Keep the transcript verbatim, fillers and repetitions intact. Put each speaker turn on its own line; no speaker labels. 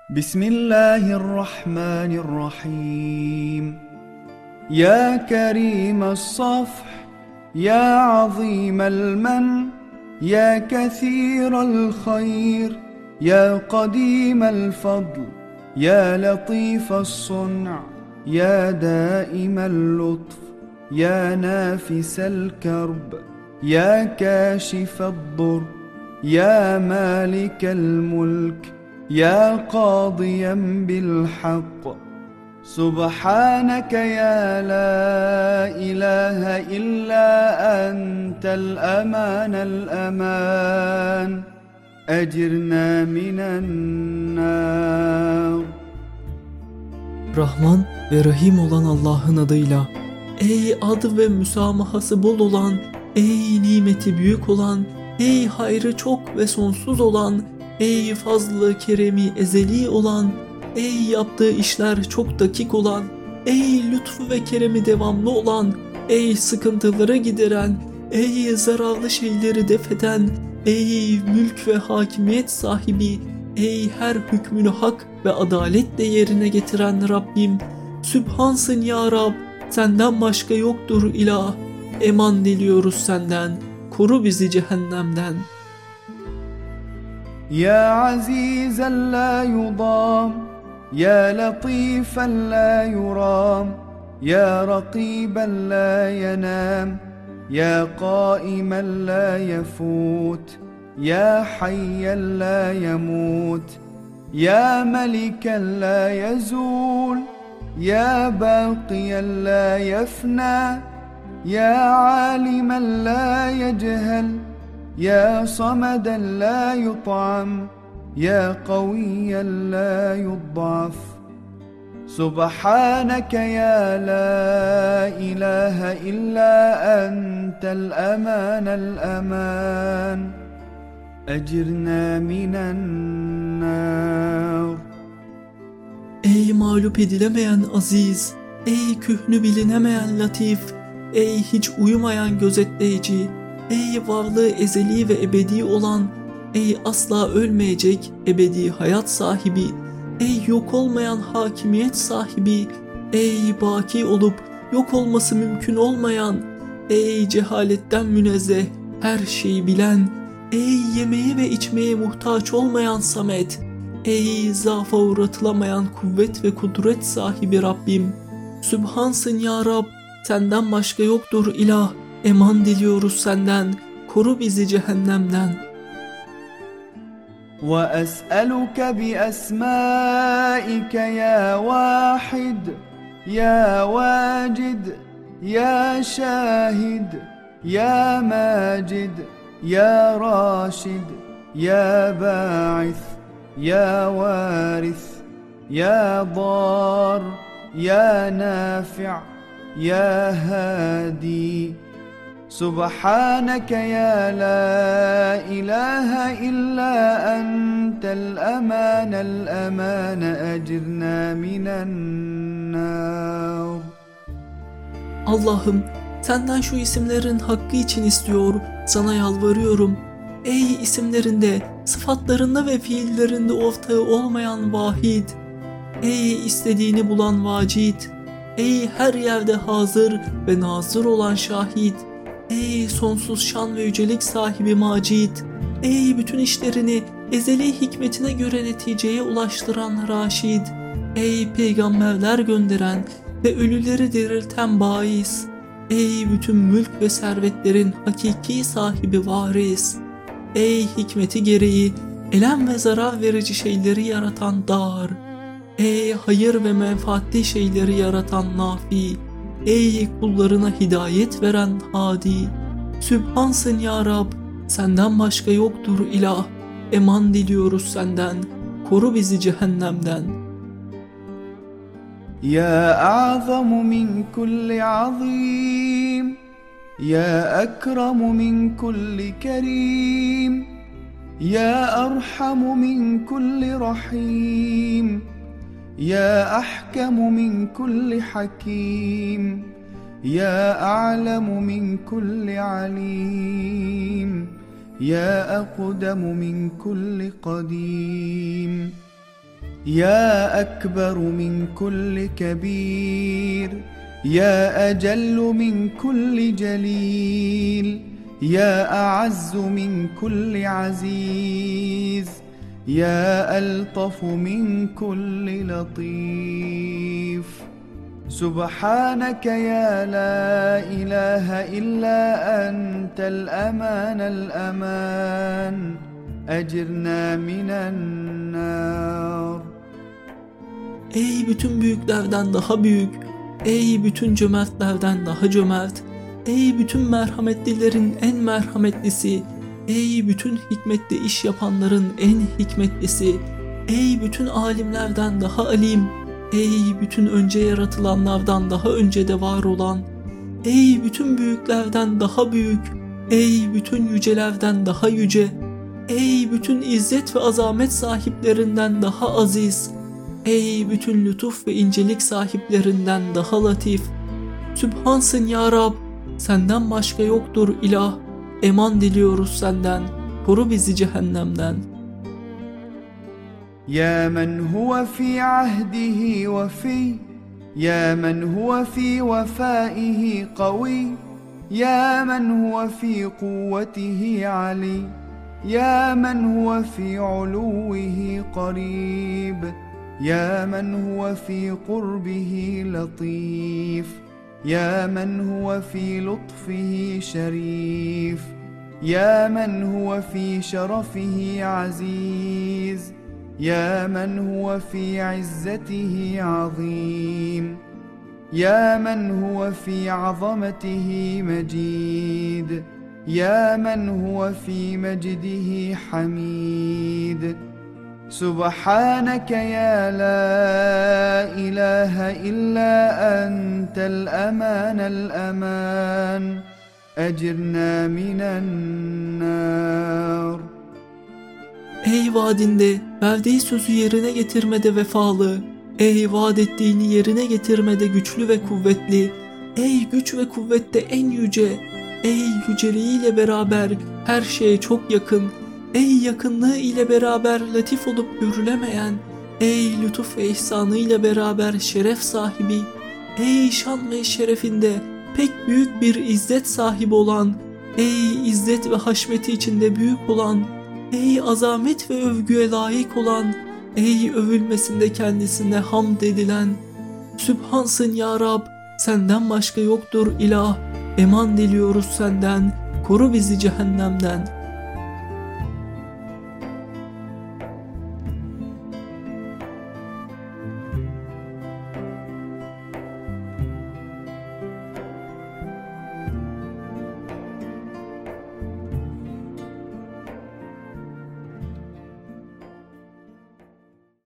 بسم الله الرحمن الرحيم. يا كريم الصفح، يا عظيم المن، يا كثير الخير، يا قديم الفضل، يا لطيف الصنع، يا دائم اللطف، يا نافس الكرب، يا كاشف الضر، يا مالك الملك، يا قاضيا بالحق. سبحانك يا لا إله إلا أنت الأمان الأمان، أجرنا من النار.
Rahman ve Rahim olan Allah'ın adıyla. Ey adı ve müsamahası bol olan, ey nimeti büyük olan, ey hayrı çok ve sonsuz olan, ey fazlı keremi ezeli olan, ey yaptığı işler çok dakik olan, ey lütfu ve keremi devamlı olan, ey sıkıntıları gideren, ey zararlı şeyleri defeden, ey mülk ve hakimiyet sahibi, ey her hükmünü hak ve adaletle yerine getiren Rabbim, Sübhansın ya Rab, senden başka yoktur ilah, eman diliyoruz senden, koru bizi cehennemden.
يا عزيزا لا يضام، يا لطيفا لا يرام، يا رقيبا لا ينام، يا قائما لا يفوت، يا حيا لا يموت، يا ملكا لا يزول، يا باقيا لا يفنى، يا عالما لا يجهل، يا صمدا لا يطعم، يا قويا لا يضعف. سبحانك يا لا إله إلا أنت الأمان الأمان، أجرنا من النار.
Ey mağlup edilemeyen aziz, ey kühnü bilinemeyen latif, ey hiç uyumayan gözetleyici, ey varlığı ezeli ve ebedi olan, ey asla ölmeyecek ebedi hayat sahibi, ey yok olmayan hakimiyet sahibi, ey baki olup yok olması mümkün olmayan, ey cehaletten münezzeh her şeyi bilen, ey yemeğe ve içmeye muhtaç olmayan Samet, ey zaafa uğratılamayan kuvvet ve kudret sahibi Rabbim, Sübhansın ya Rab, senden başka yoktur ilah, eman diliyoruz senden, koru bizi cehennemden.
وأسألك بأسمائك يا واحد، يا واجد، يا شاهد، يا ماجد، يا راشد، يا باعث، يا وارث، يا ضار، يا نافع، يا هادي. سبحانك يا لا إله إلا أنت الأمان الأمان، أجرنا من النار.
Allah'ım, senden şu isimlerin hakkı için istiyor, sana yalvarıyorum. Ey isimlerinde, sıfatlarında ve fiillerinde ortağı olmayan vahid, ey istediğini bulan vacid, ey her yerde hazır ve nazır olan şahit, ey sonsuz şan ve yücelik sahibi macid, ey bütün işlerini ezeli hikmetine göre neticeye ulaştıran raşid, ey peygamberler gönderen ve ölüleri dirilten bais, ey bütün mülk ve servetlerin hakiki sahibi varis, ey hikmeti gereği elem ve zarar verici şeyleri yaratan dar, ey hayır ve menfaatli şeyleri yaratan nafi, ey kullarına hidayet veren hadi, Sübhansın ya Rab, senden başka yoktur ilah, eman diliyoruz senden, koru bizi cehennemden.
يا أعظم من كل عظيم، يا أكرم من كل كريم، يا أرحم من كل رحيم، يا أحكم من كل حكيم، يا أعلم من كل عليم، يا أقدم من كل قديم. يا أكبر من كل كبير، يا أجل من كل جليل، يا أعز من كل عزيز، يا ألطف من كل لطيف. سبحانك يا لا إله إلا أنت الأمان الأمان، أجرنا من النار.
Ey bütün büyüklerden daha büyük, ey bütün cömertlerden daha cömert, ey bütün merhametlilerin en merhametlisi, ey bütün hikmetli iş yapanların en hikmetlisi, ey bütün alimlerden daha alim, ey bütün önce yaratılanlardan daha önce de var olan, ey bütün büyüklerden daha büyük, ey bütün yücelerden daha yüce, ey bütün izzet ve azamet sahiplerinden daha aziz, ey bütün lütuf ve incelik sahiplerinden daha latif. Sübhansın ya Rab, senden başka yoktur ilah, eman diliyoruz senden, koru bizi cehennemden.
يا من هو في عهده وفي، يا من هو في وفائه قوي، يا من هو في قوته علي، يا من هو في علوه قريب، يا من هو في قربه لطيف، يا من هو في لطفه شريف، يا من هو في شرفه عزيز، يا من هو في عزته عظيم، يا من هو في عظمته مجيد، يا من هو في مجده حميد. سبحانك يا لا إله إلا أنت الأمان الأمان، أجرنا من النار.
Ey vaadinde, verdiği sözü yerine getirmede vefalı, ey vaat ettiğini yerine getirmede güçlü ve kuvvetli, ey güç ve kuvvette en yüce, ey yüceliğiyle beraber her şeye çok yakın, ey yakınlığı ile beraber latif olup görülemeyen, ey lütuf ve ihsanı ile beraber şeref sahibi, ey şan ve şerefinde pek büyük bir izzet sahibi olan, ey izzet ve haşmeti içinde büyük olan, ey azamet ve övgüye layık olan, ey övülmesinde kendisine hamd edilen. Sübhansın ya Rab, senden başka yoktur ilah, eman diliyoruz senden, koru bizi cehennemden.